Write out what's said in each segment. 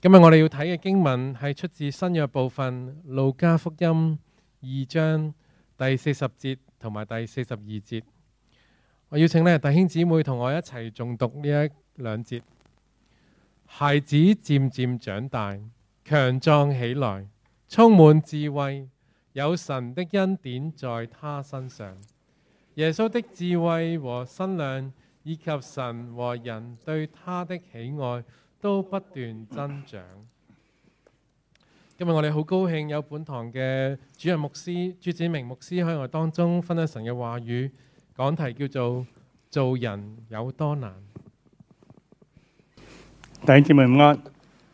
今日我哋要睇嘅經文係出自新約部分路加福音2章第40節同埋第42節。我邀請弟兄姊妹同我一齊誦讀呢一兩節。孩子漸漸長大，強壯起來，充滿智慧，有神的恩典在他身上。耶穌的智慧和身量，以及神和人對他的喜愛，都不斷增長。今日我哋好高興有本堂嘅主任牧師朱展明牧師喺我當中分享神嘅話語，講題叫做做人有多難。 弟兄姊妹午安。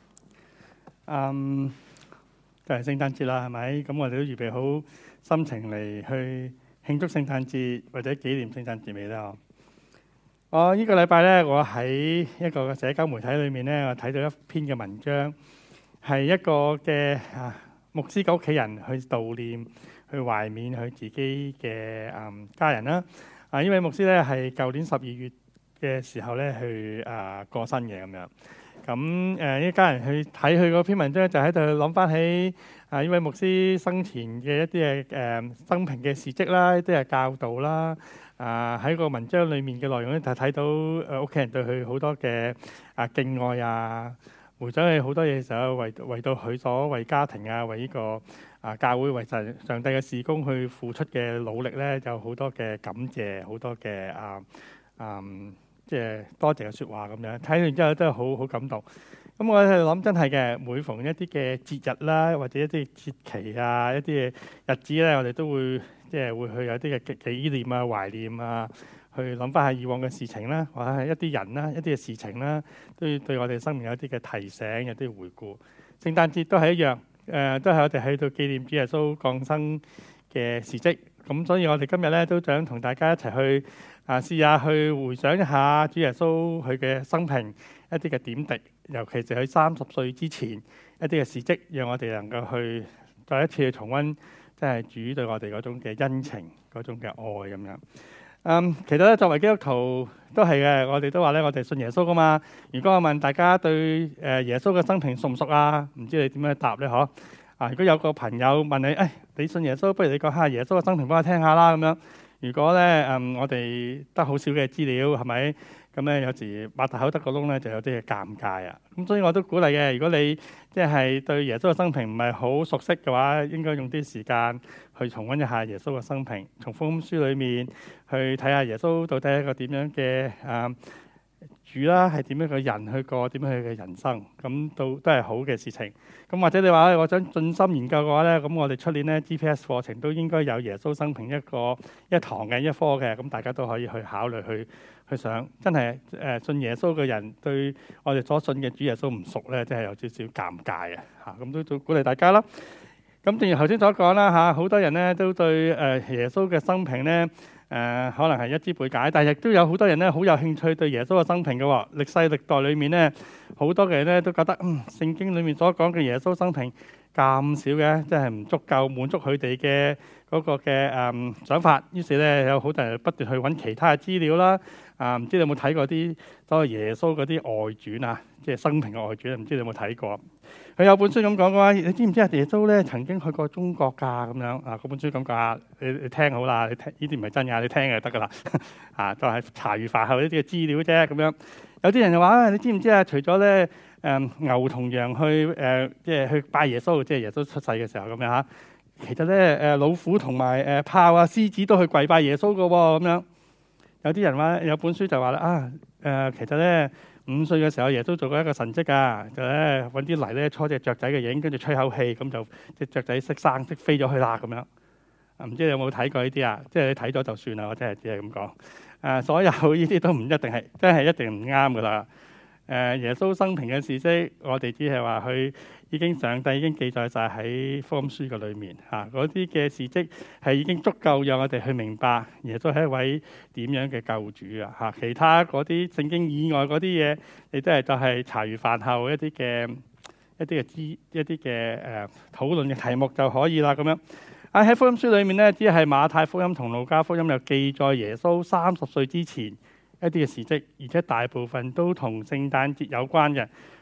就係聖誕節啦，係咪？咁我哋都預備好心情嚟去慶祝聖誕節或者紀念聖誕節未咧？我呢個禮拜咧，我喺一個社交媒體裏面咧，我睇到一篇嘅文章，係一個嘅牧師嘅屋企人去悼念、去懷緬佢自己嘅家人啦。呢位牧師咧係舊年12月嘅時候咧去過身嘅咁樣。咁呢家人去睇佢嗰篇文章，就喺度諗翻起呢位牧師生前嘅一啲嘅生平嘅事蹟啦，一啲嘅教導啦。喺個文章裏面嘅內容咧，就睇到屋企人對佢好多嘅敬愛啊，回想起好多嘢嘅時候，為到佢所為家庭啊，為呢個教會為上帝嘅事工去付出嘅努力咧，有好多嘅感謝，好多嘅即係多謝嘅説話咁樣。睇完之後都係好感動。咁我喺度諗，真係嘅，每逢一啲嘅節日啦，或者一啲節期啊，一啲嘅日子咧，我哋都會即係會去有啲嘅紀念啊、懷念啊，去諗翻下以往嘅事情啦，或者係一啲人啦、一啲嘅事情啦，都要對我哋生命有啲嘅提醒、有啲回顧。聖誕節都係一樣，都係我哋喺度紀念主耶穌降生嘅事蹟。咁所以我哋今日咧都想同大家一齊去試下去回想一下主耶穌佢嘅生平一啲嘅點滴，尤其是佢30歲之前一啲嘅事蹟，讓我哋能夠去再一次去重溫，即係主對我哋嗰種嘅恩情、嗰種嘅愛咁樣。其實咧作為基督徒都係嘅，我哋都話咧，我哋信耶穌噶嘛。如果我問大家對耶穌嘅生平熟唔熟啊？唔知你點樣答咧？如果有個朋友問你，你信耶穌，不如你講下耶穌嘅生平俾我聽下啦咁樣。如果咧我哋得好少嘅資料，係咪？咁咧有時擘大口得個窿咧，就有啲嘅尷尬啊。咁所以我都鼓勵嘅，如果你即係對耶穌嘅生平唔係好熟悉嘅話，應該用啲時間去重溫一下耶穌嘅生平，從福音書裏面去睇下耶穌到底係一個點樣嘅主啦，係點樣嘅人去過點樣佢嘅人生，咁都係好嘅事情。咁或者你話我想盡心研究嘅話咧，咁我哋出年咧 GPS 課程都應該有耶穌生平一堂嘅一科嘅，咁大家都可以去考慮去上。真係信耶穌嘅人對我哋所信嘅主耶穌唔熟咧，真係有少少尷尬啊！咁都鼓勵大家啦。咁正如頭先所講啦，好多人咧都對耶穌嘅生平咧可能係一知半解，但係亦都有好多人咧好有興趣對耶穌嘅生平嘅喎。歷世歷代裏面咧，好多嘅人咧都覺得聖經裏面所講嘅耶穌生平咁少嘅，真係唔足夠滿足佢哋嘅嗰個嘅想法。於是咧有好多人不斷去揾其他嘅資料啦。唔知你有冇睇過啲所謂耶穌嗰啲外傳啊，即係生平嘅外傳，唔知你有冇睇過？佢有本書咁講嘅話，你知唔知啊？耶穌咧曾經去過中國㗎咁樣嗰本書咁講，你聽好啦，你聽呢啲唔係真㗎，你聽就得㗎啦。就係茶餘飯後呢啲嘅資料啫咁樣。有啲人就話你知唔知啊？除咗咧牛同羊去即係去拜耶穌，即係耶穌出世嘅時候咁樣嚇。其實咧老虎同埋豹啊、獅子都去跪拜耶穌㗎喎咁樣。有啲人話有本書就話啦其實咧5歲嘅時候耶穌做過一個神蹟㗎，就咧揾啲泥咧搓隻雀仔嘅影，跟住吹口氣，咁就隻雀仔識生識飛咗去啦咁樣。唔知你有冇睇過呢啲啊？即係你睇咗就算啦，我真係只係咁講。所有呢啲都唔一定係，真係一定唔啱㗎啦。耶穌生平嘅事蹟，我哋只係話佢上帝已經記載晒喺福音書嘅裏面嗰啲嘅事蹟係已經足夠讓我哋去明白耶穌係一位點樣嘅救主啊！其他嗰啲聖經以外嗰啲嘢，你都係就係茶餘飯後一啲嘅討論嘅題目就可以啦咁樣。喺福音書裏面咧，只係馬太福音同路加福音有記載耶穌30歲之前一啲嘅事蹟，而且大部分都同聖誕節有關嘅。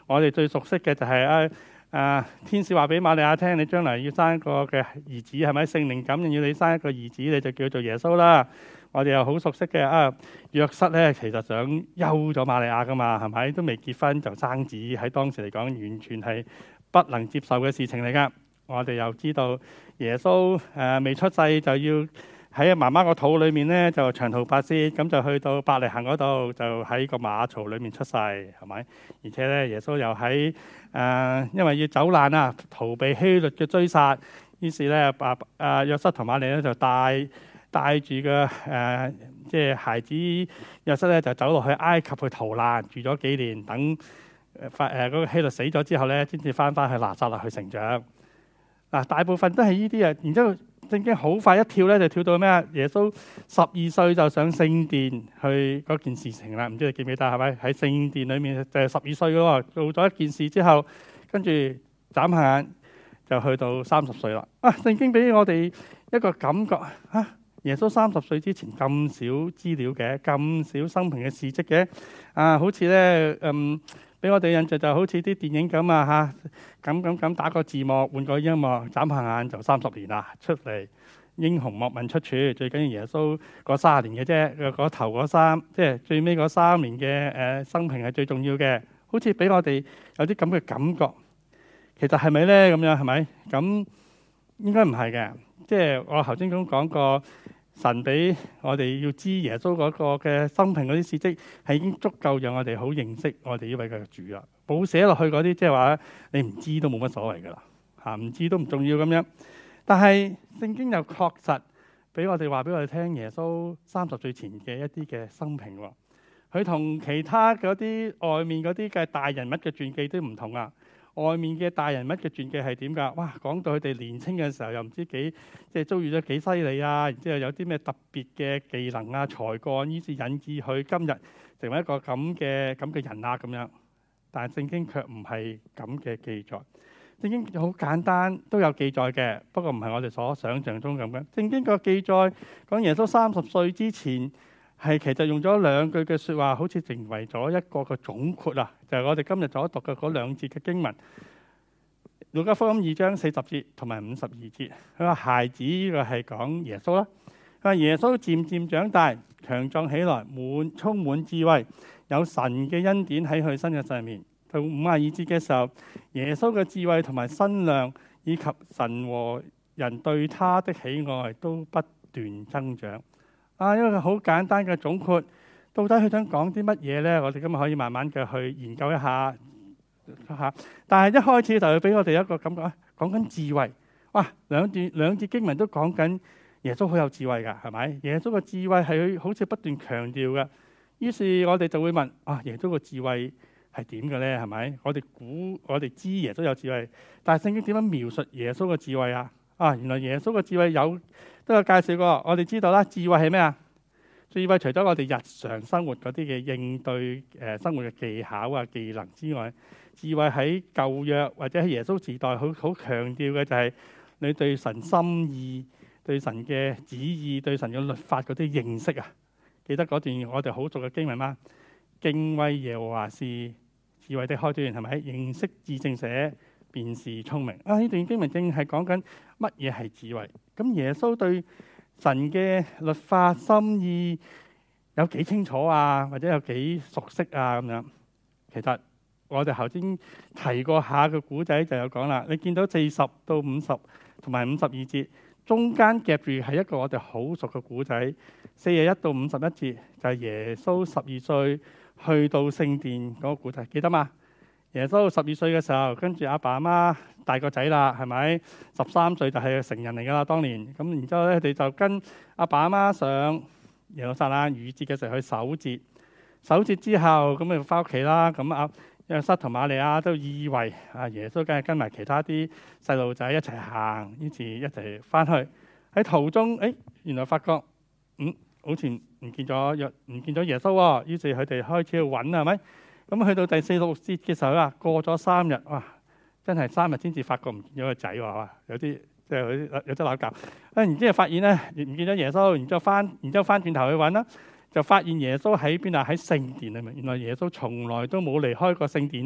我哋最熟悉嘅就係天使話俾瑪利亞聽，你將來要生一個嘅兒子，係咪？聖靈感應要你生一個兒子，你就叫做耶穌啦。我哋又好熟悉嘅約瑟咧，其實想休咗瑪利亞噶嘛，係咪？都未結婚就生子，喺當時嚟講完全係不能接受嘅事情嚟噶。我哋又知道耶穌未出世就要喺媽媽個肚裏面咧就長途跋涉，咁就去到伯利恆嗰度，就喺個馬槽裏面出世，係咪？而且咧耶穌又喺因為要走難啊，逃避希律嘅追殺，於是咧約瑟同瑪利亞咧就帶住個即係孩子約瑟咧就走落去埃及去逃難，住咗幾年，等嗰個希律死咗之後咧，先至翻去拿撒勒去成長。大部分都係呢啲啊，然之後聖經好快一跳咧，就跳到咩啊？耶穌12歲就上聖殿去嗰件事情啦，唔知你記唔記得係咪？喺聖殿裏面就係12歲嘅喎，做咗一件事之後，跟住眨下眼就去到30歲啦。聖經俾我哋一個感覺耶穌30歲之前咁少資料嘅，咁少生平嘅事蹟嘅，好似咧俾我哋印象就好似啲電影咁咁打個字幕，換個音樂，眨下眼就30年啦，出嚟英雄莫問出處。最緊要耶穌嗰30年嘅啫，嗰頭嗰3，即係最尾嗰3年嘅生平係最重要嘅。好似俾我哋有啲咁嘅感覺，其實係咪咧？咁樣係咪？咁應該唔係嘅。即係我頭先咁講過。神俾我哋要知耶穌嗰個嘅生平嗰啲事蹟係已經足夠讓我哋好認識我哋呢位嘅主啦。冇寫落去嗰啲，即係話你唔知都冇乜所謂噶啦，唔知都唔重要咁樣。但係聖經又確實俾我哋話俾我哋聽，耶穌30歲前嘅一啲嘅生平，佢同其他嗰啲外面嗰啲嘅大人物嘅傳記都唔同啊。外面嘅大人物嘅傳記係點㗎？哇，講到佢哋年青嘅時候又唔知幾即係遭遇咗幾犀利啊！然之後有啲咩特別嘅技能啊、才幹，以至引致佢今日成為一個咁嘅人啊咁樣。但係聖經卻唔係咁嘅記載。聖經好簡單，都有記載嘅，不過唔係我哋所想象中咁樣。聖經個記載講耶穌30歲之前。係其實用咗2句嘅説話，好似成為咗一個嘅總括啊！就係我哋今日所讀嘅嗰2節嘅經文，《路加福音》2章40節同埋52節。佢話孩子呢個係講耶穌啦。佢話耶穌漸漸長大，強壯起來，充滿智慧，有神嘅恩典喺佢身嘅上面。到52節嘅時候，耶穌嘅智慧同埋身量，以及神和人對他的喜愛都不斷增長。一個好簡單嘅總括，到底佢想講啲乜嘢咧？我哋今日可以慢慢嘅去研究一下。但係一開始就會俾我哋一個感覺，講緊智慧。哇，兩節經文都講緊耶穌好有智慧㗎，係咪？耶穌嘅智慧係佢好似不斷強調嘅。於是我哋就會問：耶穌嘅智慧係點嘅咧？係咪？我哋知耶穌有智慧，但係聖經點樣描述耶穌嘅智慧啊？原來耶穌嘅智慧都有介紹過。我哋知道啦，智慧係咩啊？智慧除咗我哋日常生活嗰啲嘅應對生活嘅技巧啊、技能之外，智慧喺舊約或者喺耶穌時代好強調嘅就係你對神心意、對神嘅旨意、對神嘅律法嗰啲認識啊。記得嗰段我哋好熟嘅經文嗎？敬畏耶和華是智慧的開端，係咪？認識至聖者便是聰明。呢段經文正係講緊乜嘢係智慧。咁耶穌對神嘅律法心意有幾清楚啊？或者有幾熟悉啊？咁樣，其實我哋頭先提過下個古仔就有講啦。你見到40到50同埋52節，中間夾住係一個我哋好熟嘅古仔。41到51節就係耶穌12歲去到聖殿嗰個古仔，記得嘛？耶穌12歲嘅時候，跟住阿爸阿媽大個仔啦，係咪？13歲就係成人嚟噶啦，當年。咁然之後咧，佢哋就跟阿爸阿媽上耶路撒冷逾節嘅時候去守節。守節之後，咁咪翻屋企啦。咁約瑟同瑪利亞都以為耶穌梗係跟埋其他啲細路仔一齊行，於是一齊翻去。喺途中，原來發覺好似唔見咗耶穌喎。於是佢哋開始去揾，係咪？咁去到第46節嘅時候啦，過咗3日，哇！真係3日先至發覺唔見咗個仔喎，哇！有啲即係有啲扭教。然之後發現咧唔見咗耶穌，然之後翻轉頭去揾啦，就發現耶穌喺邊啊？喺聖殿裏面。原來耶穌從來都冇離開過聖殿啊！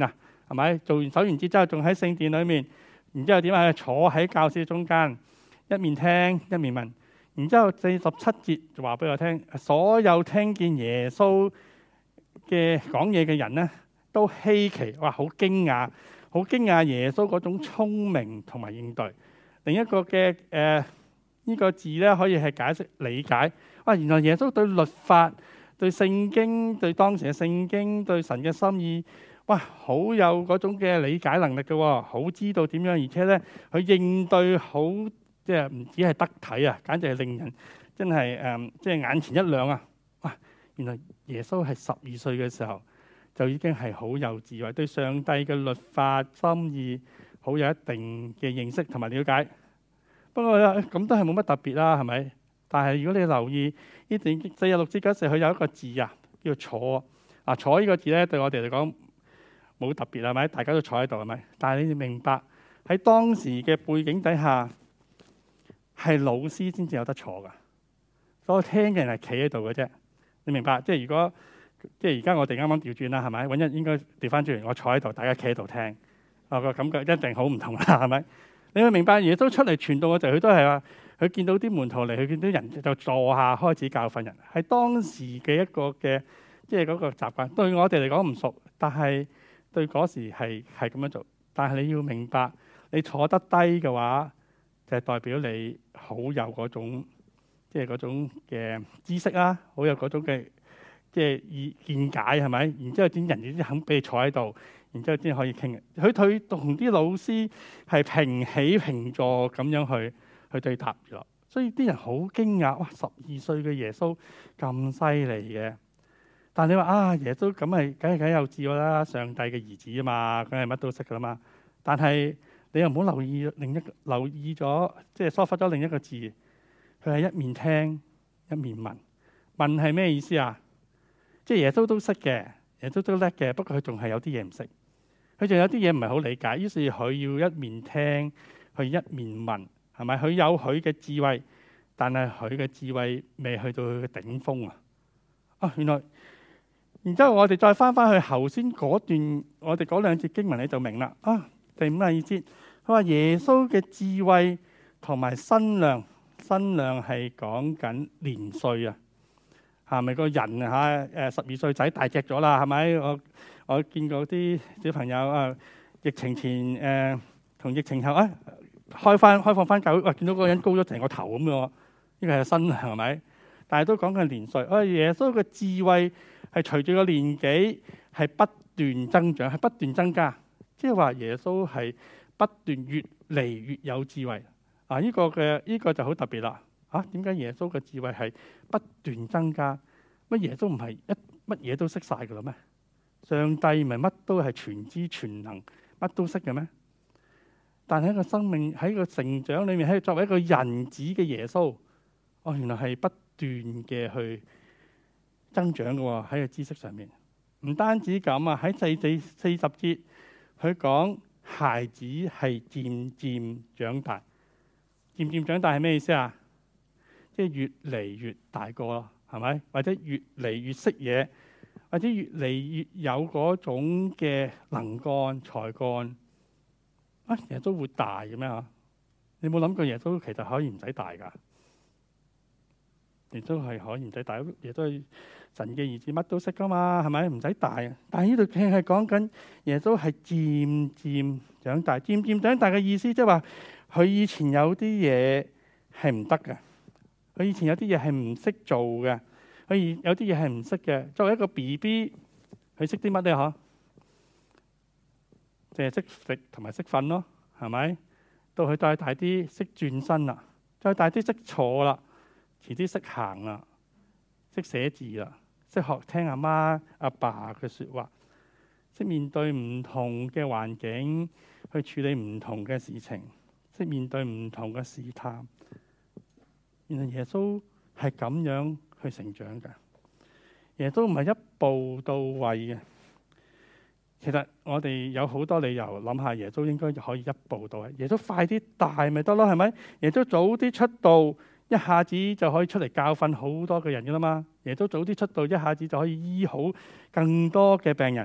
係咪？做完守完節之後，仲喺聖殿裏面，然之後點啊？坐喺教士中間，一面聽一面問。然之後47節就話俾我聽，所有聽見耶穌嘅講嘢嘅人咧，都稀奇，哇！好驚訝，好驚訝耶穌嗰種聰明同埋應對。另一個嘅呢個字咧，可以係解釋理解。哇！原來耶穌對律法、對聖經、對當時嘅聖經、對神嘅心意，哇！好有嗰種嘅理解能力嘅，好知道點樣，而且咧佢應對好。即係唔止係得體啊，簡直係令人真係即係眼前一亮啊！哇，原來耶穌係12歲嘅時候就已經係好有智慧，對上帝嘅律法心意好有一定嘅認識同埋了解。不過咁都係冇乜特別啦，係咪？但係如果你留意呢段46節嗰時，佢有一個字啊，叫坐啊。坐呢個字咧，對我哋嚟講冇特別係咪？大家都坐喺度係咪？但係你哋明白喺當時嘅背景底下，係老師先至有得坐噶，所以聽嘅人係企喺度嘅啫。你明白？即係如果即係而家我哋啱啱調轉啦，係咪？揾日應該調翻轉，我坐喺度，大家企喺度聽，我個感覺一定好唔同啦，係咪？你會明白？耶穌出嚟傳道嘅時候，佢都係話，佢見到啲門徒嚟，佢見到人就坐下開始教訓人，係當時嘅一個嘅即係嗰個習慣。對我哋嚟講唔熟，但係對嗰時係咁樣做。但係你要明白，你坐得低嘅話，就係代表你好有嗰種，即係嗰種嘅知識啦，好有嗰種嘅即係見解係咪？然之後啲人亦都肯俾你坐喺度，然之後先可以傾。佢同啲老師係平起平坐咁樣去對答咗，所以啲人好驚訝，哇！12歲嘅耶穌咁犀利嘅。但你話啊，耶穌咁係梗係有智慧啦，上帝嘅兒子啊嘛，梗係乜都識噶啦嘛。但係你又唔好留意咗，即係疏忽咗另一個字。佢係一面聽一面問。問係咩意思啊？即係耶穌都識嘅，耶穌都叻嘅，不過佢仲係有啲嘢唔識。佢仲有啲嘢唔係好理解，於是佢要一面聽，佢一面問，係咪？佢有佢嘅智慧，但係佢嘅智慧未去到佢嘅頂峰啊！啊，原來，然之後我哋再翻去頭先嗰段，我哋嗰兩節經文你就明啦。啊！第52節，佢話耶穌嘅智慧同埋身量，身量係講緊年歲啊，係咪個人嚇12歲仔大隻咗啦？係咪？我見過啲小朋友啊，疫情前同疫情後啊，開放翻教會，哇！見到嗰個人高咗成個頭咁樣，呢個係身量係咪？但係都講緊年歲。啊，耶穌嘅智慧係隨住個年紀係不斷增長，係不斷增加。即係話耶穌係不斷越嚟越有智慧啊！呢個就好特別啦。嚇，點解耶穌嘅智慧係不斷增加？乜耶穌唔係乜嘢都識晒㗎啦咩？上帝唔係乜都係全知全能，乜都識嘅咩？但係喺個生命喺個成長裏面，喺作為一個人子嘅耶穌，哦，原來係不斷嘅去增長嘅喎，喺個知識上面。唔單止咁啊，喺第40節。佢講孩子係漸漸長大，漸漸長大係咩意思啊？即係越嚟越大個咯，係咪？或者越嚟越識嘢，或者越嚟越有嗰種嘅能幹才幹。啊，耶穌會大嘅咩嚇？你冇諗過耶穌其實可以唔使大㗎？耶穌係可以唔使大，耶穌係神嘅兒子，乜都識噶嘛，係咪？唔使大。但係呢度佢係講緊耶穌係漸漸長大，漸漸長大嘅意思即係話佢以前有啲嘢係唔得嘅，佢以前有啲嘢係唔識做嘅，佢有啲嘢係唔識嘅。作為一個 BB， 佢識啲乜咧？嗬，淨係識食同埋識瞓咯，係咪？到佢再大啲，識轉身啦，再大啲識坐啦。遲啲識行啦，識寫字啦，識學聽阿媽阿爸嘅説話，識面對唔同嘅環境去處理唔同嘅事情，識面對唔同嘅試探。原來耶穌係咁樣去成長嘅。耶穌唔係一步到位嘅。其實我哋有好多理由諗下，耶穌應該可以一步到位。耶穌快啲大咪得咯，係咪？耶穌早啲出道。一下子就可以出嚟教訓好多嘅人噶啦嘛，耶穌早啲出道，一下子就可以醫好更多嘅病人，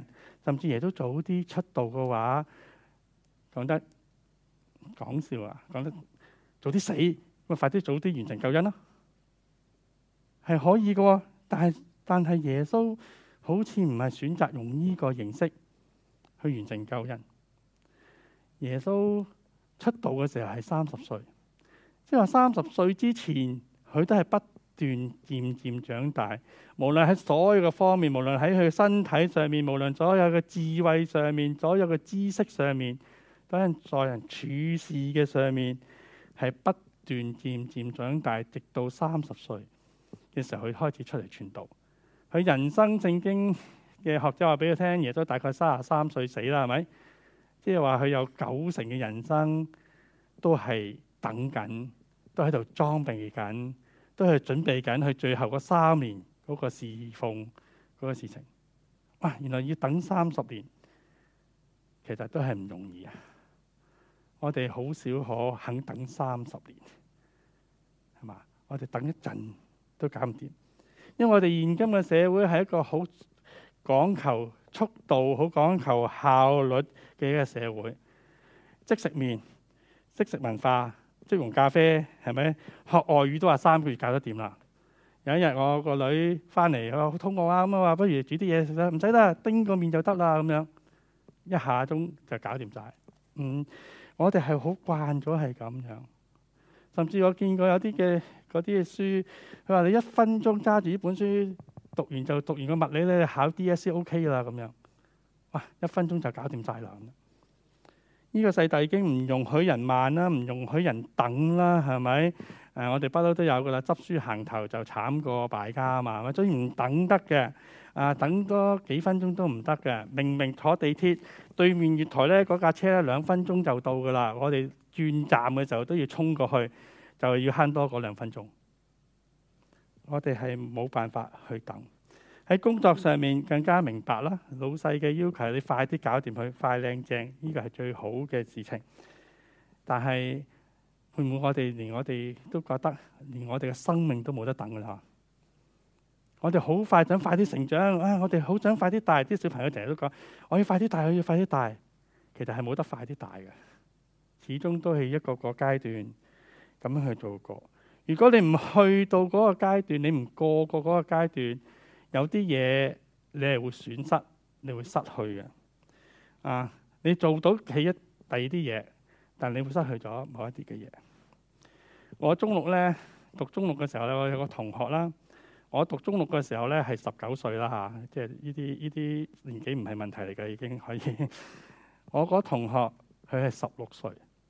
甚至耶穌早啲出道嘅話，講得講笑啊，講得早啲死，咁快啲早啲完成救恩咯，係可以嘅喎。但係耶穌好似唔係選擇用呢個形式去完成救恩。耶穌出道嘅時候係30歲，即係話30歲之前，佢都係不斷漸漸長大。無論喺所有嘅方面，無論喺佢身體上面，無論所有嘅智慧上面，所有嘅知識上面，都係在人處事嘅上面，係不斷漸漸長大，直到30歲嘅時候，佢開始出嚟傳道。佢人生聖經嘅學者話俾佢聽，耶穌大概33歲死啦，係咪？即係話佢有90%嘅人生都係等緊，都喺度裝備緊，都係準備緊佢最後嗰3年嗰個侍奉嗰個事情。哇！原來要等30年，其實都係唔容易啊！我哋好少可肯等30年，係嘛？我哋等一陣都搞唔掂，因為我哋現今嘅社會係一個好講求速度、好講求效率嘅一個社會。即食麵、即食文化、即溶咖啡，係咪？學外語都話3個月搞得掂啦。有一日我個女翻嚟，佢話好肚餓啊，咁啊話不如煮啲嘢食啦，唔使啦，叮個麵就得啦，咁樣一下鐘就搞掂晒。我哋係好慣咗係咁樣，甚至我見過有啲嘅嗰啲嘅書，佢話你1分鐘揸住呢本書讀完就讀完個物理咧，考 DSE OK 啦咁樣。哇！1分鐘就搞掂晒啦。呢個世代已經唔容許人慢啦，唔容許人等啦，係咪？我哋不嬲都有噶啦，執輸行頭就慘過敗家啊嘛，所以唔等得嘅。等多幾分鐘都唔得嘅。明明坐地鐵對面月台咧，嗰架車咧2分鐘就到噶啦，我哋轉站嘅時候都要衝過去，就要慳多嗰2分鐘。我哋係冇辦法去等。喺工作上面更加明白啦，老細嘅要求你快啲搞掂佢，快靚正，呢個係最好嘅事情。但係會唔會連我哋都覺得連我哋嘅生命都冇得等㗎啦？我哋好快想快啲成長啊！我哋好想快啲大，啲小朋友成日都講我要快啲大，我要快啲大。其實係冇得快啲大嘅，始終都係一個個階段咁樣去做過。如果你唔去到嗰個階段，你唔過嗰個階段，有啲嘢你係會損失，你會失去嘅。你做到第二啲嘢，但你會失去咗某一啲嘅嘢。我中六咧讀中六嘅時候咧，我有個同學啦。我讀中六嘅時候咧係19歲啦嚇，即係呢啲年紀唔係問題嚟嘅，已經可以。我嗰同學佢係16歲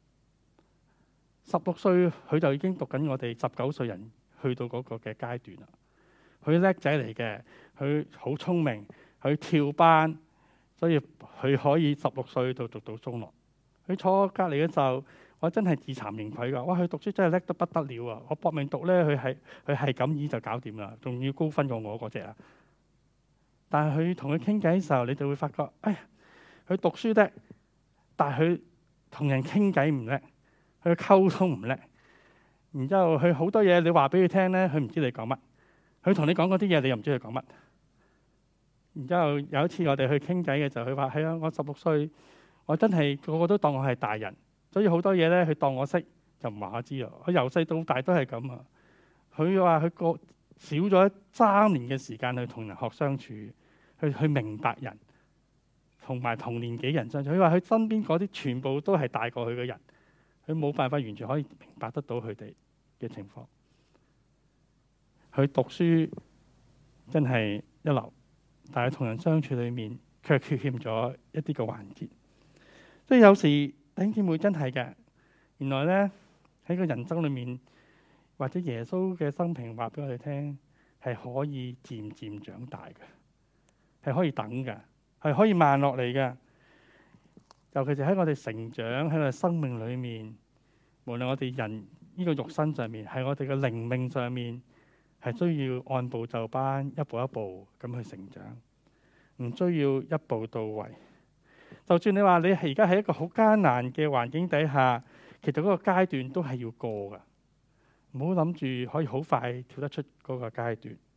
，16歲佢就已經讀緊我哋19歲人去到嗰個嘅階段啦。佢叻仔嚟嘅，佢好聰明，佢跳班，所以佢可以16歲就讀到中六。佢坐我隔離嘅時候，我真係自慚形愧㗎。哇！佢讀書真係叻得不得了啊！我搏命讀咧，佢係咁意就搞掂啦，仲要高分過我嗰隻啊！但係佢同佢傾偈嘅時候，你就會發覺，哎呀，佢讀書叻，但係佢同人傾偈唔叻，佢溝通唔叻。然之後佢好多嘢你話俾佢聽咧，佢唔知你講乜。佢同你講嗰啲嘢，你又唔知佢講乜。然之後有一次我哋去傾偈嘅時候，佢話：係啊，我16歲，我真係個個都當我係大人，所以好多嘢咧，佢當我識就唔話我知咯。佢由細到大都係咁啊。佢話佢個少咗3年嘅時間去同人學相處，去明白人，同埋同年紀人相處。佢話佢身邊嗰啲全部都係大過佢嘅人，佢冇辦法完全可以明白得到佢哋嘅情況。佢讀書真係一流，但係同人相處裏面卻缺欠咗一啲嘅環節。所以有時弟兄姊妹真係嘅，原來咧喺個人生裏面，或者耶穌嘅生平話俾我哋聽，係可以漸漸長大嘅，係可以等嘅，係可以慢落嚟嘅。尤其是喺我哋成長喺我哋生命裏面，無論我哋人呢個肉身上面，係我哋嘅靈命上面，係需要按部就班，一步一步咁去成長，唔需要一步到位。就算你話你而家喺一個好艱難嘅環境底下，其實嗰個階段都係要過噶，唔好諗住可以好快跳得出嗰個階段。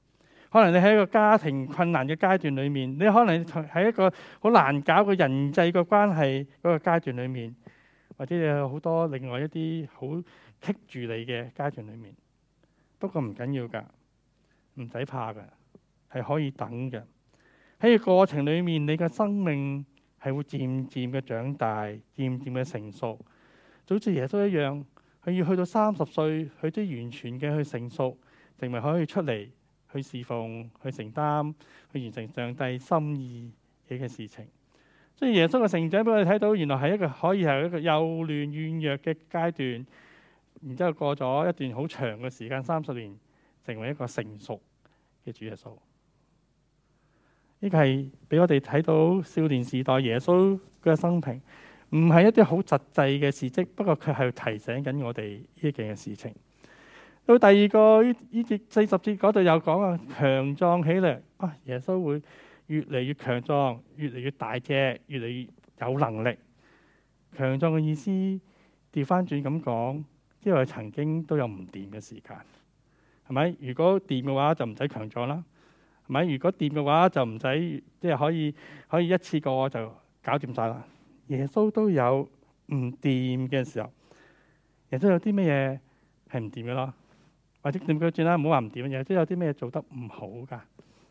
可能你喺一個家庭困難嘅階段裏面，你可能喺一個好難搞嘅人際嘅關係嗰個階段裏面，或者你有好多另外一啲好棘住你嘅階段裏面。不過唔緊要㗎，唔使怕㗎，係可以等嘅。喺個過程裏面，你嘅生命係會漸漸嘅長大，漸漸嘅成熟，就好似耶穌一樣。佢要去到30歲，佢都完全嘅去成熟，成為可以出嚟去侍奉、去承擔、去完成上帝心意嘅事情。所以耶穌嘅成長俾我哋睇到，原來係一個可以係一個幼嫩軟弱嘅階段，然之後過咗一段好長嘅時間，30年，成為一個成熟嘅主耶穌。呢個係俾我哋睇到少年時代耶穌嘅生平。唔係一啲好實際嘅事蹟，不過佢係提醒緊我哋呢件嘅事情。到第二個呢節40節嗰度有講啊，強壯起嚟啊，耶穌會越嚟越強壯，越嚟越大隻，越嚟越有能力。強壯嘅意思調翻轉咁講，因為曾經都有唔掂嘅時間，係咪？如果掂嘅話就唔使強壯啦，係咪？如果掂嘅話就唔使即係可以一次過就搞掂晒啦。耶穌都有唔掂嘅時候，耶穌有啲咩嘢係唔掂嘅咯？或者點講轉啦，唔好話唔掂嘅嘢，即係有啲咩做得唔好噶？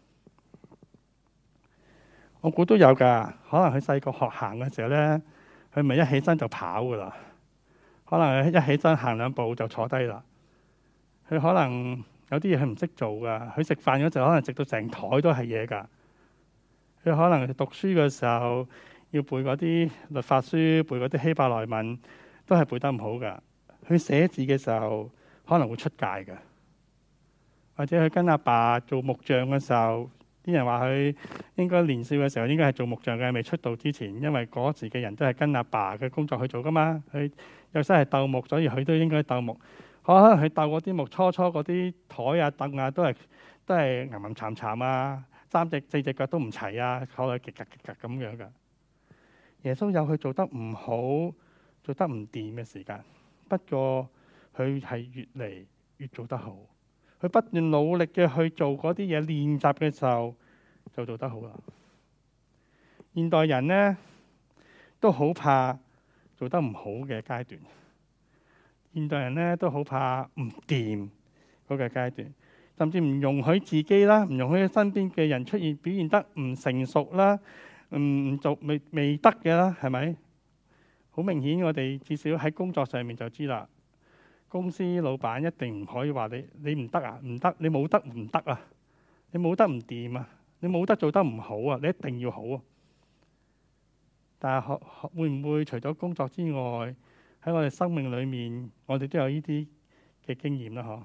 我估都有噶。可能佢細個學行嘅時候咧，佢咪一起身就跑噶啦。可能一起身行2步就坐低啦。佢可能有啲嘢佢唔識做噶。佢食飯嗰陣可能食到成枱都係嘢噶。佢可能讀書嘅時候，要背嗰啲律法書，背嗰啲希伯來文，都係背得唔好噶。佢寫字嘅時候可能會出界噶，或者佢跟阿爸做木匠嘅時候，啲人話佢應該年少嘅時候應該係做木匠嘅，未出道之前，因為嗰時嘅人都係跟阿爸嘅工作去做噶嘛。佢有時係鬥木，所以佢都應該鬥木。可能佢鬥嗰啲木，初嗰啲枱啊凳啊都係陰陰慘慘啊，3隻4隻腳都唔齊啊，坐落極格咁樣噶。耶穌有佢做得唔好、做得唔掂嘅時間，不過佢係越嚟越做得好。佢不斷努力嘅去做嗰啲嘢，練習嘅時候就做得好啦。現代人呢都好怕做得唔好嘅階段，現代人呢都好怕唔掂嗰個階段，甚至唔容許自己啦，唔容許身邊嘅人出現表現得唔成熟啦。唔做未得嘅啦，係咪？好明顯，我哋至少喺工作上面就知啦。公司老闆一定唔可以話你唔得啊，唔得，你冇得唔得啊，你冇得唔掂啊，你冇得做得唔好啊，你一定要好啊。但係會唔會除咗工作之外，喺我哋生命裏面，我哋都有呢啲嘅經驗啦？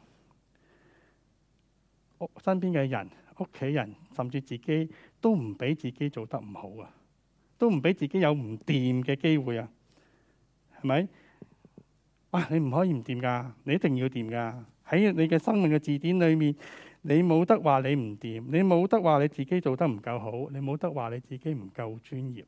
身邊嘅人、屋企人，甚至自己都唔俾自己做得唔好啊，都唔俾自己有唔掂嘅機會啊，係咪？哇！你唔可以唔掂噶，你一定要掂噶。喺你嘅生命嘅字典裏面，你冇得話你唔掂，你冇得話你自己做得唔夠好，你冇得話你自己唔夠專業，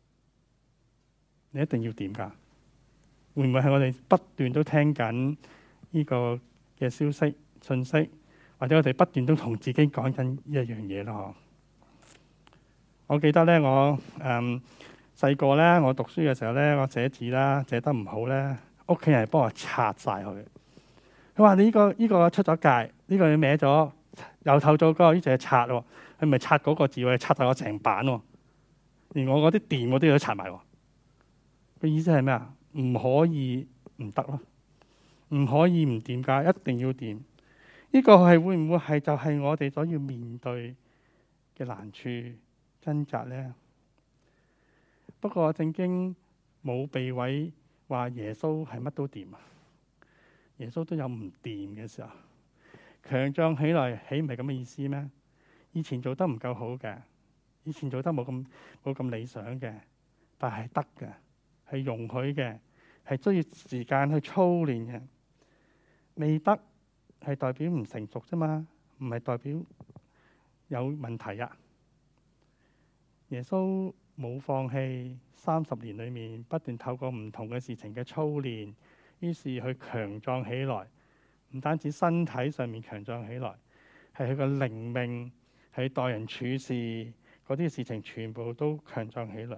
你一定要掂噶。會唔會係我哋不斷都聽緊呢個嘅消息、信息？或者我哋不斷都同自己講緊一樣嘢咯。我記得咧，我細個咧，我讀書嘅時候咧，我寫字啦，寫得唔好咧，屋企人幫我擦晒佢。佢話：你呢個出咗界，呢個你歪咗，由頭做過，呢就係擦喎。佢唔係擦嗰個字喎，係擦晒我成版喎。連我嗰啲電我都要擦埋喎。個意思係咩啊？唔可以唔得咯，唔可以唔掂㗎，一定要掂。呢個係會唔會係就係我哋所要面對嘅難處掙扎呢？不過聖經冇避諱話耶穌係乜都掂啊！耶穌都有唔掂嘅時候，強壯起來，豈唔係咁嘅意思咩？以前做得唔夠好嘅，以前做得冇咁理想嘅，但係得嘅，係容許嘅，係需要時間去操練嘅，未得。係代表唔成熟啫嘛，唔係代表有問題啊。耶穌冇放棄，30年裏面不斷透過唔同嘅事情嘅操練，於是佢強壯起來，唔單止身體上面強壯起來， 係佢個靈命，係待人處事嗰啲事情，全部都強壯起來。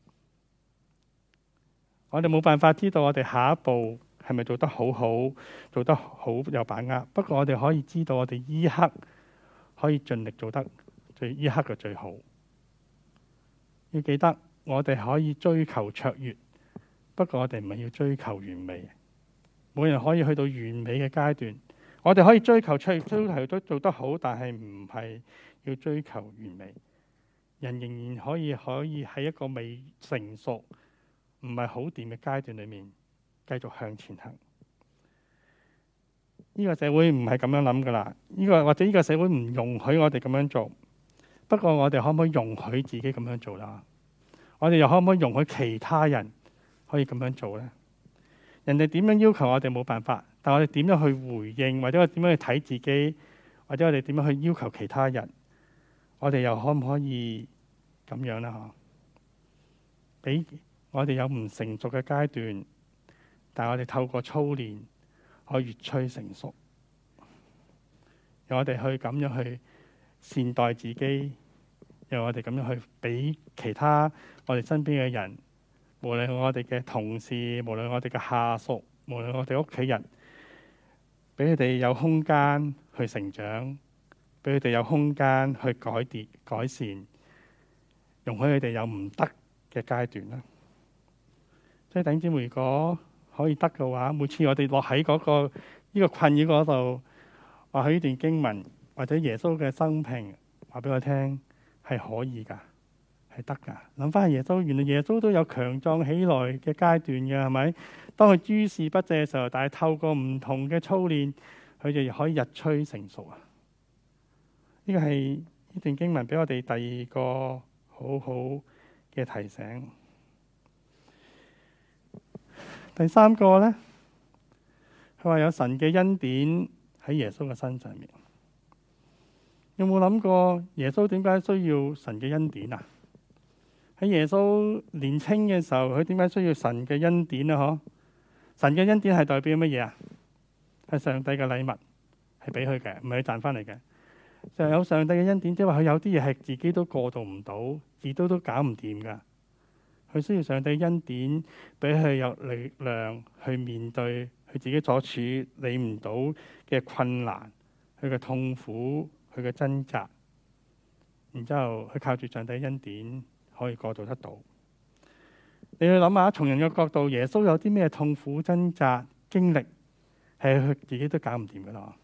我哋冇辦法知道我哋下一步係咪做得好好，做得好有把握。不過我哋可以知道，我哋依刻可以盡力做得依刻嘅最好。要記得，我哋可以追求卓越，不過我哋唔係要追求完美。冇人可以去到完美嘅階段。我哋可以追求卓越，追求都做得好，但係唔係要追求完美。人仍然可以喺一個未成熟，唔係好掂嘅階段裏面繼續向前行。呢個社會唔係咁樣諗噶啦，或者呢個社會唔容許我哋咁樣做。不過我哋可唔可以容許自己咁樣做啦？我哋又可唔可以容許其他人可以咁樣做呢？人哋點樣要求我哋冇辦法，但我哋點樣去回應，或者我點樣去睇自己，或者我哋點樣去要求其他人，我哋又可唔可以咁樣呢？俾我哋有唔成熟嘅階段，但係我哋透過操練可以越趨成熟。讓我哋去咁樣去善待自己，讓我哋咁樣去俾其他我哋身邊嘅人，無論我哋嘅同事，無論我哋嘅下屬，無論我哋屋企人，俾佢哋有空間去成長，俾佢哋有空間去改善，容許佢哋有唔得嘅階段啦。所以弟兄姊妹，如果可以得嘅話，每次我哋落喺呢個困擾嗰度，話喺呢段經文或者耶穌嘅生平，話俾我聽係可以噶，係得噶。諗翻下耶穌，原來耶穌都有強壯起來嘅階段嘅，係咪？當佢諸事不濟嘅時候，但係透過唔同嘅操練，佢就可以日趨成熟啊！呢個係呢段經文俾我哋第二個好好嘅提醒。第三個呢，佢話有神嘅恩典喺耶穌嘅身上面。有冇諗過耶穌點解需要神嘅恩典啊？喺耶穌年青嘅時候，佢點解需要神嘅恩典啊？嗬，神嘅恩典係代表乜嘢啊？係上帝嘅禮物，係俾佢嘅，唔係佢賺翻嚟嘅。就有上帝嘅恩典，即係話佢有啲嘢係自己都過渡唔到，自己都搞唔掂噶。佢需要上帝恩典，俾佢有力量去面對佢自己所處理唔到嘅困難，佢嘅痛苦，佢嘅掙扎。然之後佢靠住上帝恩典可以過渡得到。你去諗下，從人嘅角度，耶穌有啲咩痛苦掙扎經歷，係佢自己都搞唔掂噶啦。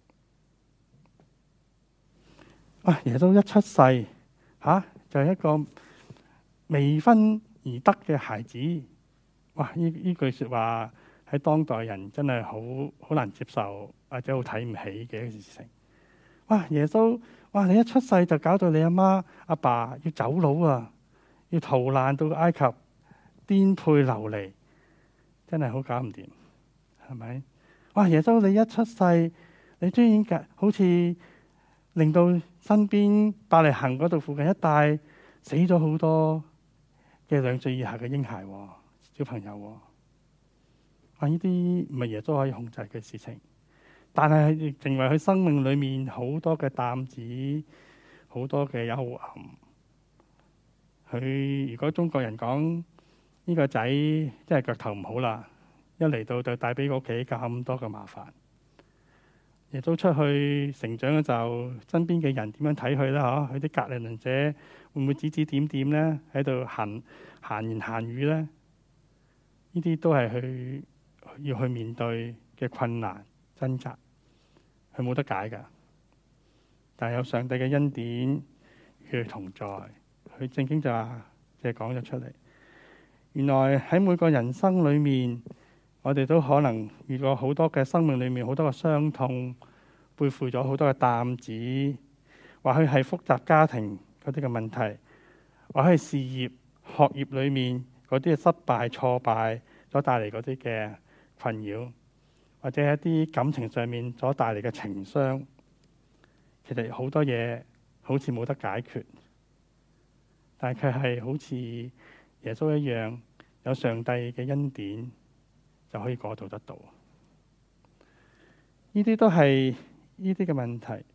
耶穌一出世，就係一個未婚而得嘅孩子。呢句說話喺當代人真係好難接受，或者好睇唔起嘅一件事情。耶穌，你一出世就搞到你阿媽阿爸要走佬啊，要逃難到埃及，顛沛流離，真係好搞唔掂，係咪？耶穌，你一出世，你居然好似令到身邊伯利恆嗰度附近一帶死咗好多嘅2歲以下嘅嬰孩小朋友。呢啲唔係耶穌可以控制嘅事情，但係亦成為佢生命裏面好多嘅擔子，好多嘅幽暗。佢如果中國人講呢個仔真係腳頭唔好啦，一嚟到就帶俾屋企咁多嘅麻煩。耶穌出去成長嘅時候，身邊嘅人點樣睇佢咧？佢啲隔離鄰舍會唔會指指點點咧？喺度閒言閒語咧？呢啲都係佢要去面對嘅困難掙扎，佢冇得解噶。但係有上帝嘅恩典與佢同在，佢正經就係講咗出嚟。原來喺每個人生裏面，我哋都可能遇過好多嘅生命裏面好多嘅傷痛，背負咗好多嘅擔子，或許係複雜家庭嗰啲嘅問題，或許係事業學業裏面嗰啲嘅失敗挫敗所帶嚟嗰啲嘅困擾，或者一啲感情上面所帶嚟嘅情傷。其實好多嘢好似冇得解決，但係佢係好似耶穌一樣，有上帝嘅恩典就可以過渡得到。呢啲都係呢啲嘅問題。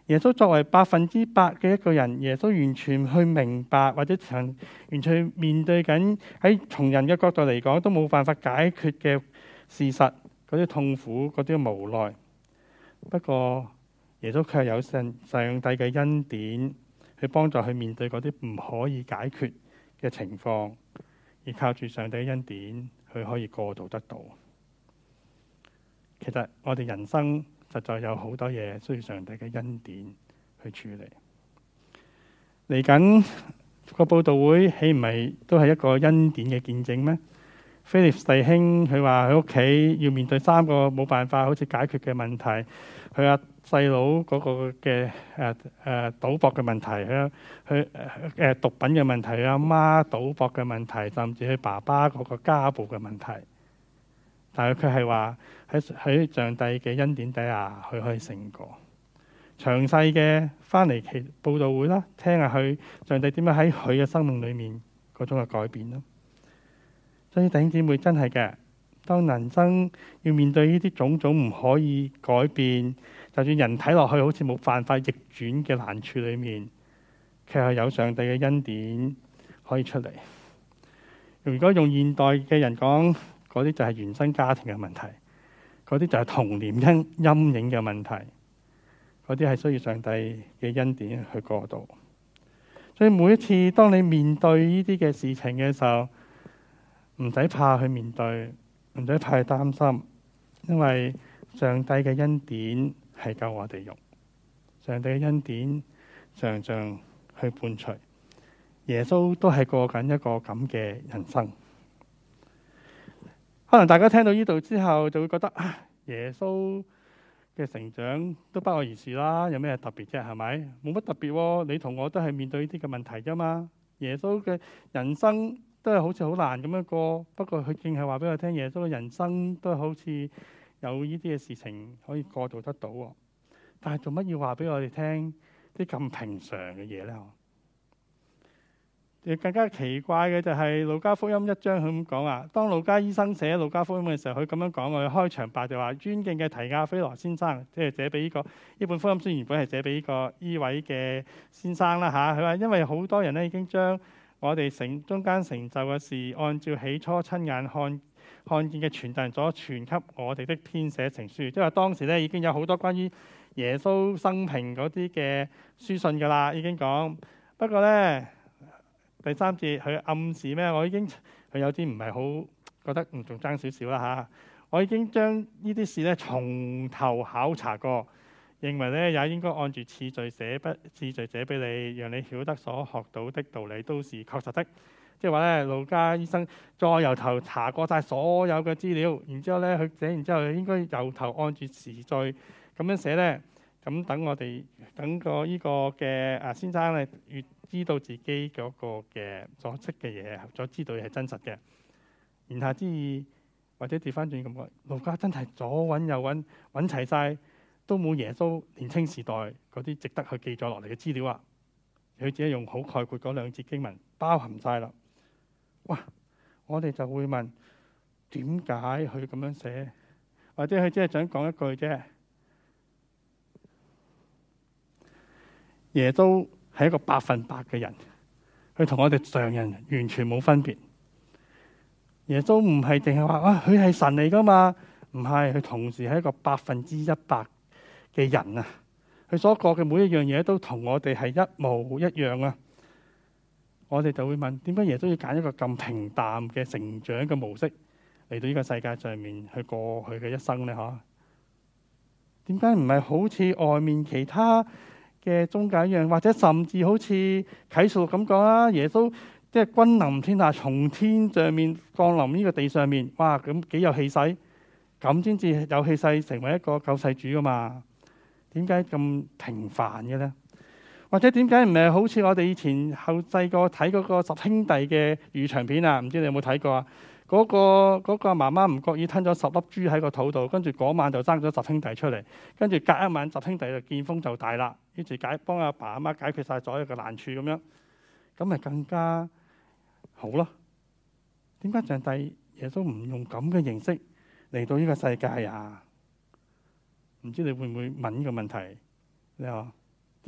耶穌作為100%嘅一個人，耶穌完全去明白或者完全面對緊喺從人嘅角度嚟講都冇辦法解決嘅事實，嗰啲痛苦，嗰啲無奈。不過耶穌卻有上帝嘅恩典去幫助佢面對嗰啲唔可以解決嘅情況，而靠住上帝嘅恩典，佢可以過渡得到。其實我哋人生實在有好多嘢需要上帝嘅恩典去處理。嚟緊個佈道會，豈唔係都係一個恩典嘅見證咩？菲利弟兄佢話佢屋企要面對3個冇辦法好似解決嘅問題，佢阿細佬嗰個嘅賭博嘅問題，佢毒品嘅問題，佢阿媽賭博嘅問題，甚至佢爸爸嗰個家暴嘅問題。但係佢係話喺上帝嘅恩典底下，佢可以勝過。詳細嘅翻嚟佈道會啦，聽下佢上帝點樣喺佢嘅生命裏面嗰種嘅改變咯。所以弟兄姊妹真係嘅，當人生要面對呢啲種種唔可以改變，就算人睇落去好似冇辦法逆轉嘅難處裏面，卻係有上帝嘅恩典可以出嚟。如果用現代嘅人講，嗰啲就係原生家庭嘅問題，嗰啲就係童年陰影嘅問題，嗰啲係需要上帝嘅恩典去過渡。所以每一次當你面對呢啲嘅事情嘅時候，唔使怕去面對，唔使怕去擔心，因為上帝嘅恩典係夠我哋用，上帝嘅恩典常常去伴隨。耶穌都係過緊一個咁嘅人生。可能大家聽到呢度之後就會覺得耶穌嘅成長都不外如是啦，有咩特別啫？係咪？冇乜特別喎，你同我都係面對呢啲嘅問題啫嘛。耶穌嘅人生都係好似好難咁樣過，不過佢淨係話俾我聽，耶穌嘅人生都好似有呢啲嘅事情可以過渡得到。但係做乜要話俾我哋聽啲咁平常嘅嘢呢？更加奇怪嘅就係路加福音1章佢咁講啊。當路加醫生寫路加福音嘅時候，佢咁樣講，我開場白就話：尊敬嘅提亞菲羅先生，即係寫俾呢本福音書原本係寫俾呢位嘅先生啦嚇。佢話因為好多人咧已經將我哋中間成就嘅事，按照起初親眼看見嘅傳道人所傳給我哋的編寫成書，即係話當時咧已經有好多關於耶穌生平嗰啲嘅書信噶啦，已經講。不過咧，第3節佢暗示咩？佢有啲唔係好覺得仲爭少少啦嚇。我已經將呢啲事咧從頭考察過，認為咧也應該按住次序寫俾你，讓你曉得所學到的道理都是確實的。即係話咧，路加醫生再由頭查過晒所有嘅資料，然之後咧佢寫完之後應該由頭按住時序咁樣寫咧。咁等個呢個嘅先生咧越知道自己嗰個嘅所識嘅嘢，所知道嘅係真實嘅。言下之意，或者調翻轉咁講，路加真係左揾右揾齊晒，都冇耶穌年青時代嗰啲值得去記載落嚟嘅資料啊！佢只係用好概括嗰2節經文包含晒啦。哇！我哋就會問點解佢咁樣寫？或者佢只係想講一句啫。耶穌係一個100%嘅人，佢同我哋常人完全冇分別。耶穌唔係淨係話佢係神嚟噶嘛？唔係，佢同時係一個100%嘅人啊！佢所過嘅每一樣嘢都同我哋係一模一樣啊！我哋就會問：點解耶穌要揀一個咁平淡嘅成長嘅模式嚟到呢個世界上面去過佢嘅一生呢？嚇？點解唔係好似外面其他嘅宗教一樣，或者甚至好似啟示錄咁講啦，耶穌即係君臨天下，從天上面降臨呢個地上面，哇！咁幾有氣勢，咁先至有氣勢成為一個救世主噶嘛？點解咁平凡嘅咧？或者點解唔係好似我哋以前細個睇嗰個10兄弟嘅粵語長片啊？唔知你有冇睇過啊？嗰個媽媽唔覺意吞咗10粒豬喺個肚度，跟住嗰晚就生咗10兄弟出嚟，跟住隔一晚10兄弟就見風就大啦，於是幫阿爸阿媽解決晒所有嘅難處咁樣，咁咪更加好咯？點解上帝耶穌唔用咁嘅形式嚟到呢個世界啊？唔知你會唔會問呢個問題？你話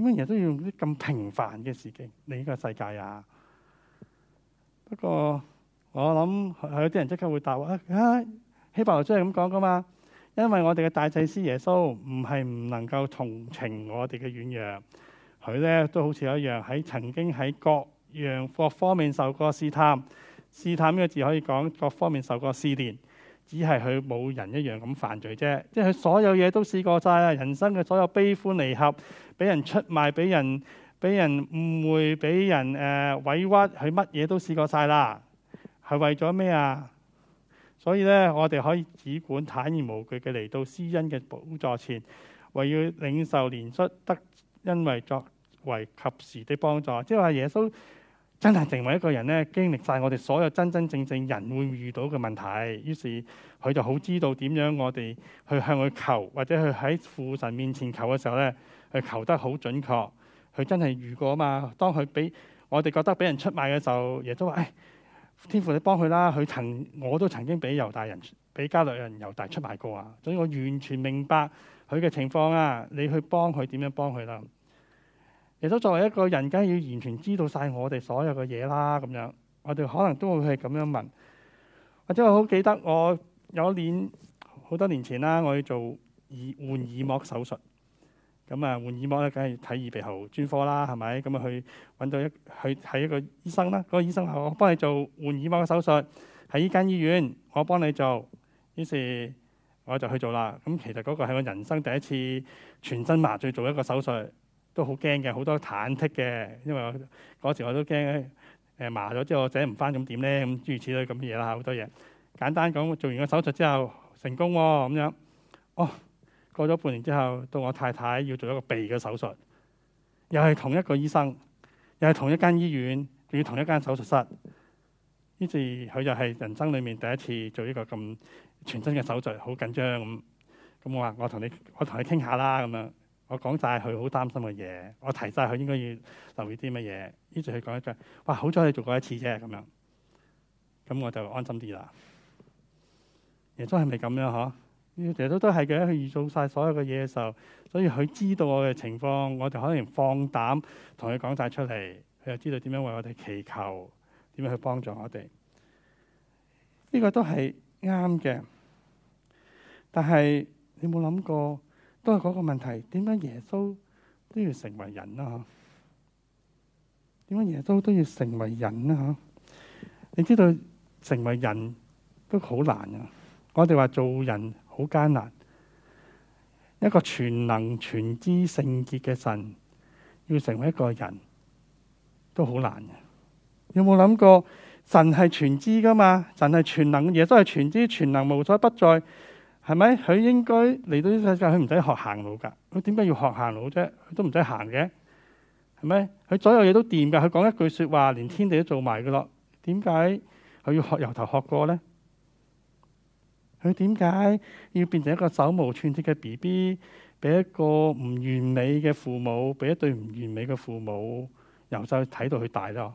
點解耶穌要用啲咁平凡嘅事情嚟呢個世界啊？不過我諗有啲人即刻會答話希伯來書係咁講噶嘛，因為我哋嘅大祭司耶穌唔係唔能夠同情我哋嘅軟弱，佢咧都好似一樣喺曾經喺各方面受過試探。試探呢個字可以講各方面受過試煉，只係佢冇人一樣咁犯罪啫。即係佢所有嘢都試過晒啦，人生嘅所有悲歡離合，俾人出賣，俾人誤會，俾人委屈，佢乜嘢都試過晒啦。係為咗咩啊？所以咧，我哋可以只管坦然無懼嘅嚟到施恩嘅寶座前，為要領受憐恤，得因為作為及時的幫助。即係話耶穌真係成為一個人咧，經歷晒我哋所有真真正正人會遇到嘅問題。於是佢就好知道點樣我哋去向佢求，或者去喺父神面前求嘅時候咧，佢求得好準確。佢真係遇過啊嘛。當佢俾我哋覺得俾人出賣嘅時候，耶穌話：天父你幫佢啦，我都曾經俾加略人猶大出賣過啊，所以我完全明白佢嘅情況啊，你去幫佢點樣幫佢啦。耶穌作為一個人，梗係要完全知道晒我哋所有嘅嘢啦。咁樣我哋可能都會係咁樣問，或者我好記得我有一年好多年前啦，我要做換耳膜手術。咁啊，換耳膜咧，梗係睇耳鼻喉專科啦，係咪？咁啊，去揾到去睇一個醫生啦。嗰個醫生話：我幫你做換耳膜嘅手術，喺呢間醫院，我幫你做。於是我就去做啦。咁其實嗰個係我人生第一次全身麻醉做一個手術，都好驚嘅，好多忐忑嘅，因為嗰時我都驚麻咗之後醒唔翻咁點咧？咁諸如此類咁嘅嘢啦，好多嘢。簡單講，做完個手術之後成功喎，咁樣過咗半年之後，到我太太要做一個鼻嘅手術，又係同一個醫生，又係同一間醫院，仲要同一間手術室。於是佢就係人生裏面第一次做呢個咁全身嘅手術，好緊張咁。咁我話我同你傾下啦，咁樣我講晒佢好擔心嘅嘢，我提晒佢應該要留意啲乜嘢。於是佢講一句：哇，好彩你做過一次啫，咁樣。咁我就安心啲啦。耶穌係咪咁樣嗬？耶穌都係嘅，佢預做晒所有嘅嘢嘅時候，所以佢知道我嘅情況，我哋可能放膽同佢講晒出嚟，佢又知道點樣為我哋祈求，點樣去幫助我哋。呢個都係啱嘅，但係你冇諗過，都係嗰個問題，點解耶穌都要成為人啊？點解耶穌都要成為人啊？你知道成為人都好難啊！我哋話做人好艱難，一個全能全知聖潔嘅神要成為一個人都好難嘅。有冇諗過神係全知噶嘛？神係全能，耶穌係全知全能，無所不在，係咪？佢應該嚟到呢世界，佢唔使學行路噶。佢點解要學行路啫？佢都唔使行嘅，係咪？佢所有嘢都掂噶。佢講一句說話，連天地都做埋噶咯。點解佢要由頭學過呢？佢點解要變成一個手無寸鐵嘅 BB， 俾一個唔完美嘅父母，俾一對唔完美嘅父母由細睇到佢大咯？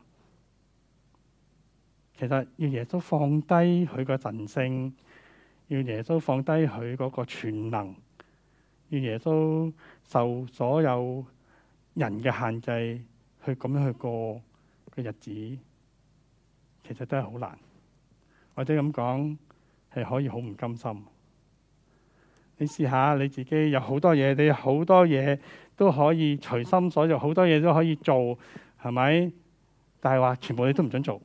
其實要耶穌放低佢個神性，要耶穌放低佢嗰個全能，要耶穌受所有人嘅限制，去咁樣去過嘅日子，其實都係好難，或者咁講，係可以好唔甘心。你試下你自己有好多嘢，你有好多嘢都可以隨心所欲，好多嘢都可以做，係咪？但係話全部你都唔准做，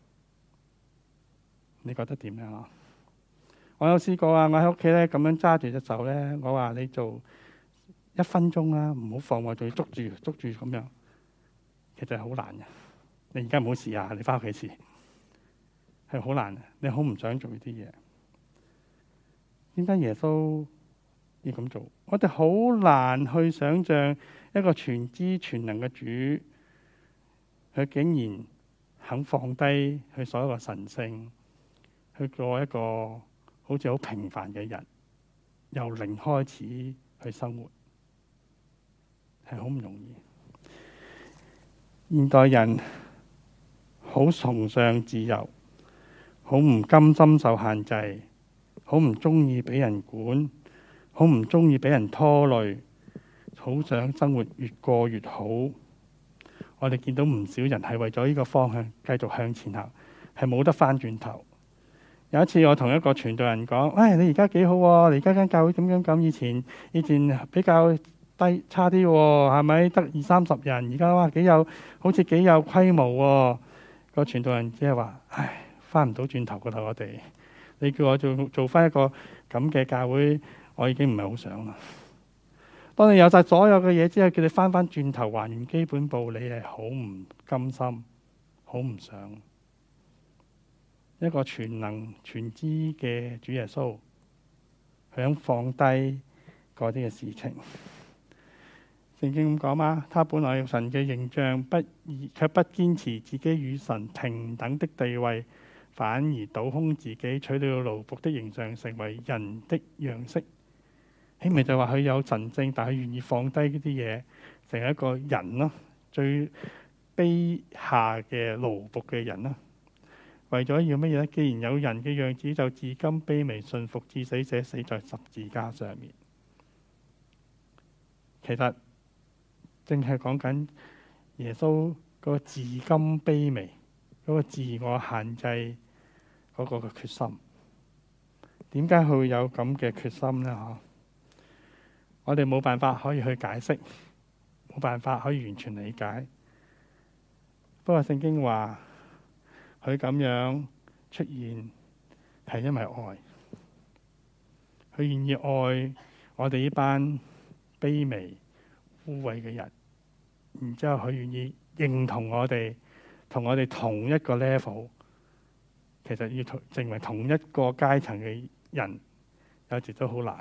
你覺得點樣？我有試過啊，我喺屋企咧咁樣揸住隻手咧，我話你做1分鐘啦，唔好放我，仲要捉住咁樣，其實係好難嘅。你而家唔好試啊，你翻屋企試，係好難，你好唔想做呢啲嘢。點解耶穌要咁做？我哋好難去想象一個全知全能嘅主，佢竟然肯放低佢所有嘅神性，去過一個好似好平凡嘅人，由零開始去生活，係好唔容易。現代人好崇尚自由，好唔甘心受限制，好唔中意俾人管，好唔中意俾人拖累， 好想生活越過越好。我哋見到唔少人係為咗呢個方向繼續向前行，係冇得翻轉頭。有一次我同一個傳道人講：唉，你而家幾好喎？你而家間教會咁，以前比較差啲喎，係咪得20-30人？而家哇好似幾有規模喎。個傳道人只係話：唉，翻唔到轉頭噶啦，我哋。你叫我做翻一個咁嘅教會，我已經唔係好想啦。當你有晒所有嘅嘢之後，叫你翻轉頭還原基本步，你係好唔甘心，好唔想。一個全能全知嘅主耶穌，佢想放低嗰啲嘅事情。聖經咁講嘛，他本來有神嘅形象，卻不堅持自己與神平等的地位，反而倒空自己，取了奴僕的形象，成為人的樣式。希咪就話佢有神性，但係佢願意放低呢啲嘢，成為一個人咯，最卑下嘅奴僕嘅人啦。為咗要乜嘢咧？既然有人嘅樣子，就至今卑微順服至死，者死在十字架上面。其實正係講緊耶穌嗰個至今卑微，嗰個自我限制嗰個嘅決心。點解佢會有咁嘅決心呢？我哋冇辦法可以去解釋，冇辦法可以完全理解。不過聖經話佢咁樣出現係因為愛，佢願意愛我哋呢班卑微污穢嘅人，然之後佢願意認同我哋，同我哋同一個 level。其實要成為同一個階層嘅人，有時都好難。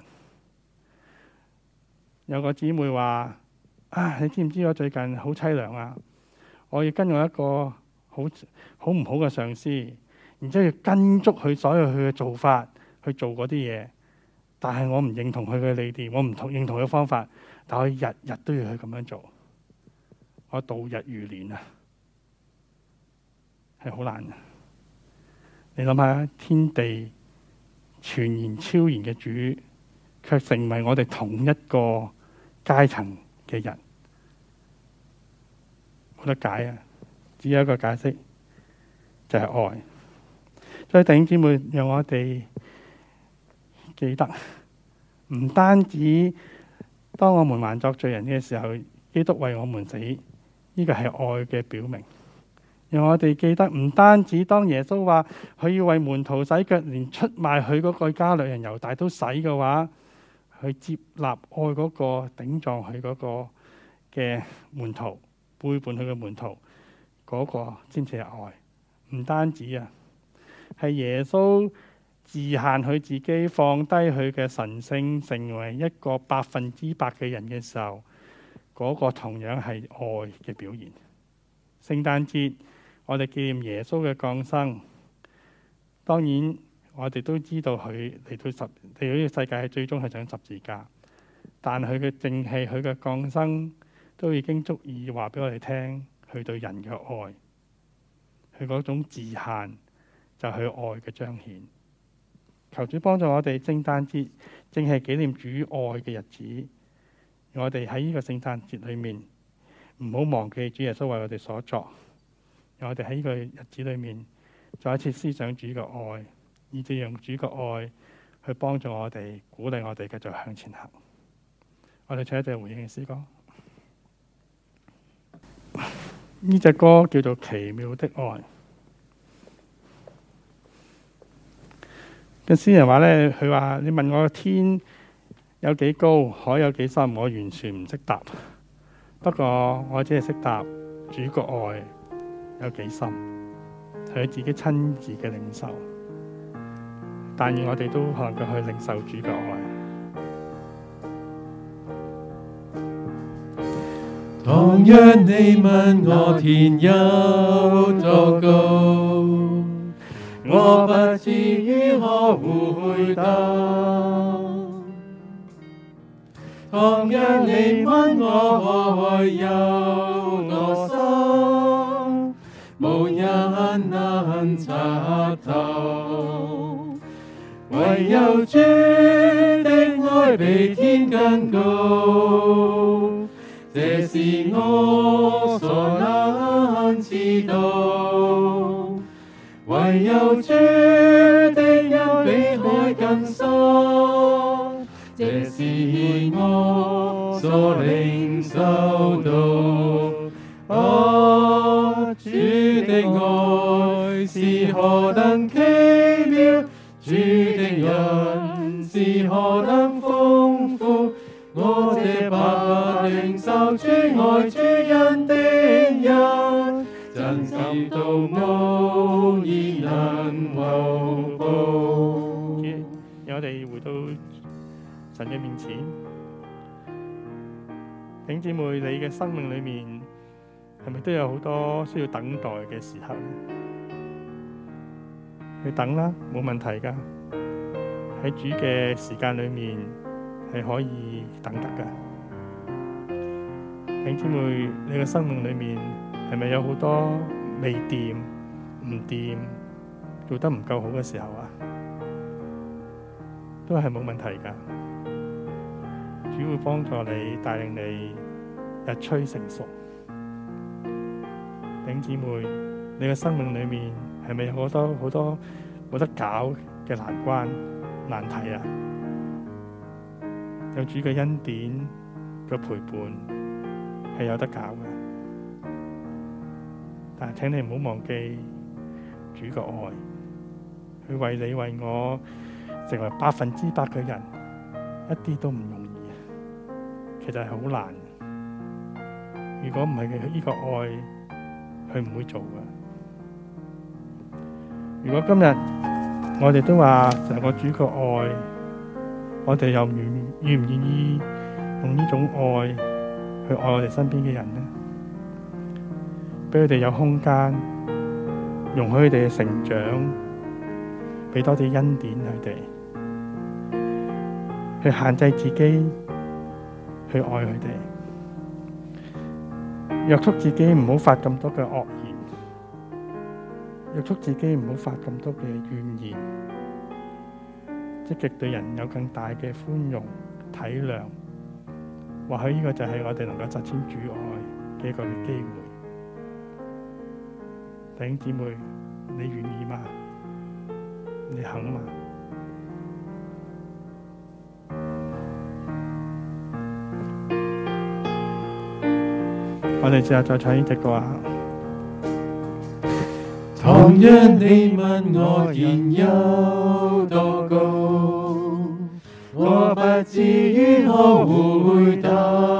有個姊妹話：你知唔知我最近好淒涼啊？我要跟我一個好唔好嘅上司，然之後要跟足佢所有佢嘅做法去做嗰啲嘢，但係我唔認同佢嘅理念，我唔認同佢嘅方法，但我日日都要去咁樣做，我度日如年啊，係好難嘅。你諗下，天地全然超然嘅主，卻成為我哋同一個階層嘅人，冇得解啊！只有一個解釋，就係愛。所以弟兄姊妹，讓我哋記得，唔單止當我們還作罪人嘅時候，基督為我們死，呢個係愛嘅表明。讓我哋記得，唔單止當耶穌話佢要為門徒洗腳，連出賣佢嗰個加略人猶大都洗嘅話，去接納愛嗰個頂撞佢嗰個嘅門徒，背叛佢嘅門徒，嗰個先至係愛。唔單止啊，係耶穌自限佢自己，放低佢嘅神性，成為一個100%嘅人嘅時候，嗰個同樣係愛嘅表現。聖誕節我哋紀念耶穌嘅降生，當然我哋都知道佢嚟到呢個世界係最終係上十字架，但佢嘅正氣，佢嘅降生都已經足以話俾我哋聽，佢對人嘅愛，佢嗰種自限就係佢愛嘅彰顯。求主幫助我哋，聖誕節正係紀念主愛嘅日子，我哋喺呢個聖誕節裏面唔好忘記主耶穌為我哋所作。我哋喺呢個日子裏面再一次思想主嘅愛，以至用主嘅愛去幫助我哋，鼓勵我哋繼續向前行。我哋唱一隻回應嘅詩歌，呢隻歌叫做《奇妙的愛》。個詩人話呢，佢話你問我天有幾高，海有幾深，我完全唔識答。不過我只係識答主個愛有幾深，係佢自己親自嘅領受。但願我哋都能夠去領受主嘅愛。 倘若你問我天有多高，我不知如何回答。倘若你問我愛有多深，無人能察透。 唯有主的愛比天更高，這是我所能知道。唯有主的恩比海更深，這是我所領受到。主的愛是何等奇妙，主的恩是何等豐富，我這不領受主愛主恩的人，真是到無以能後報。 讓我哋回到神嘅面前，弟兄姊妹，你嘅生命裏面係咪都有好多需要等待嘅時候？去等啦，冇問題噶。喺主嘅時間裏面係可以等得噶。弟兄姊妹，你嘅生命裏面係咪有好多未掂、唔掂、做得唔夠好嘅時候啊？都係冇問題噶。主會幫助你，帶領你日趨成熟。弟兄姊妹，你嘅生命裏面係咪有好多冇得搞嘅難關難題啊？有主嘅恩典嘅陪伴係有得搞嘅，但係請你唔好忘記主嘅愛，佢為你為我成為100%嘅人，一啲都唔容易啊！其實係好難。如果唔係佢呢個愛，佢唔會做嘅。如果今日我哋都話成個主嘅愛，我哋又願唔願意用呢種愛去愛我哋身邊嘅人呢？俾佢哋有空間，容許佢哋嘅成長，俾多啲恩典佢哋，去限制自己，去愛佢哋，約束自己唔好發咁多嘅惡言，約束自己唔好發咁多嘅怨言，積極對人有更大嘅寬容體諒。或許呢個就係我哋能夠實踐主愛嘅一個機會。弟兄姊妹，你願意嗎？你肯嗎？我哋試下再唱呢隻歌啊！ 倘若你問我現有多高，我不知如何回答。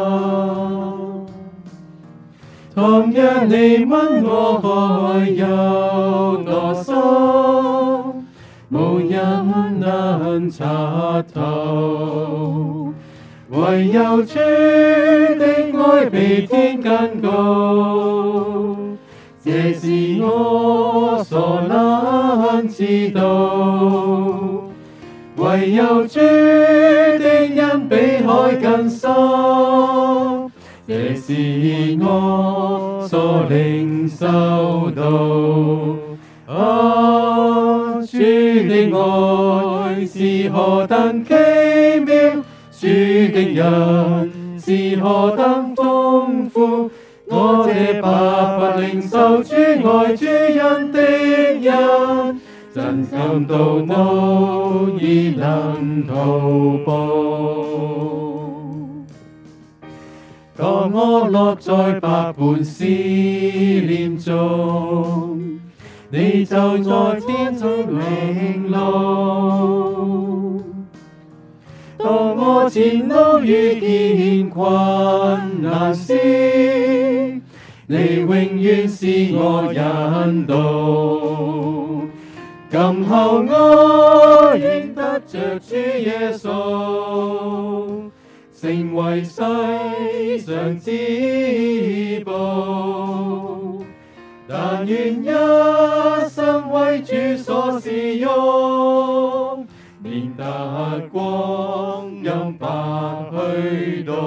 倘若你問我愛有多深，無人能察透。唯有主的愛比天更高，這是我所能知道。唯有主的恩比海更深，這是我所領受到。主的愛是何等奇妙，主的恩是何等豐富，我這白領受主愛主恩的人，真感到無以能圖報。當我落在百般試煉中，你就在天中領路。當我前路遇見困難時，你永遠是我引導。今後我認得着主耶穌，成為世上至寶。但願一生為主所使用，免得光陰白去到。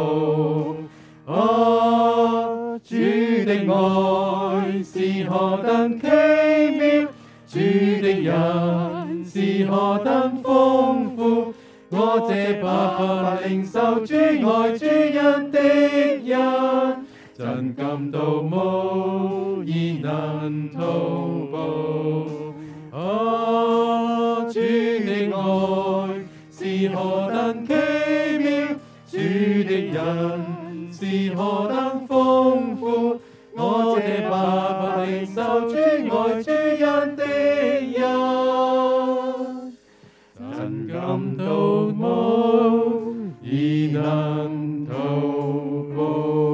主的愛是何等奇妙，主的恩是何等豐富，我這白白領受主愛主恩的人，真感到無以能圖報。主的愛是何等奇妙，主的人是何等豐富，我這白白領受主愛主恩的人，真感到無以能圖報。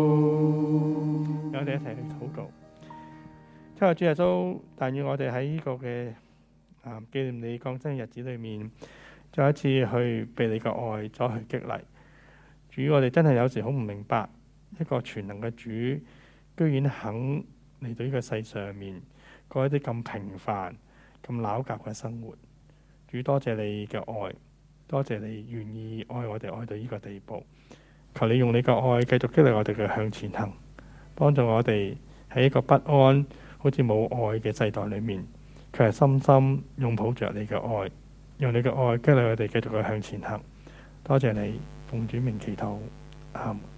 我哋一齊去禱告。親愛主耶穌，但願我哋喺呢個嘅紀念你降生嘅日子裏面，再一次去被你嘅愛所去激勵。主，我哋真係有時好唔明白，一個全能嘅主，居然肯嚟到呢個世上面過一啲咁平凡、咁撈夾嘅生活。主，多謝你嘅愛，多謝你願意愛我哋愛到呢個地步。求你用你嘅愛繼續激勵我哋嘅向前行，幫助我哋喺一個不安、好似冇愛嘅世代裏面，佢係深深擁抱着你嘅愛，用你嘅愛激勵我哋繼續去向前行。多謝你，奉主名祈禱，阿們。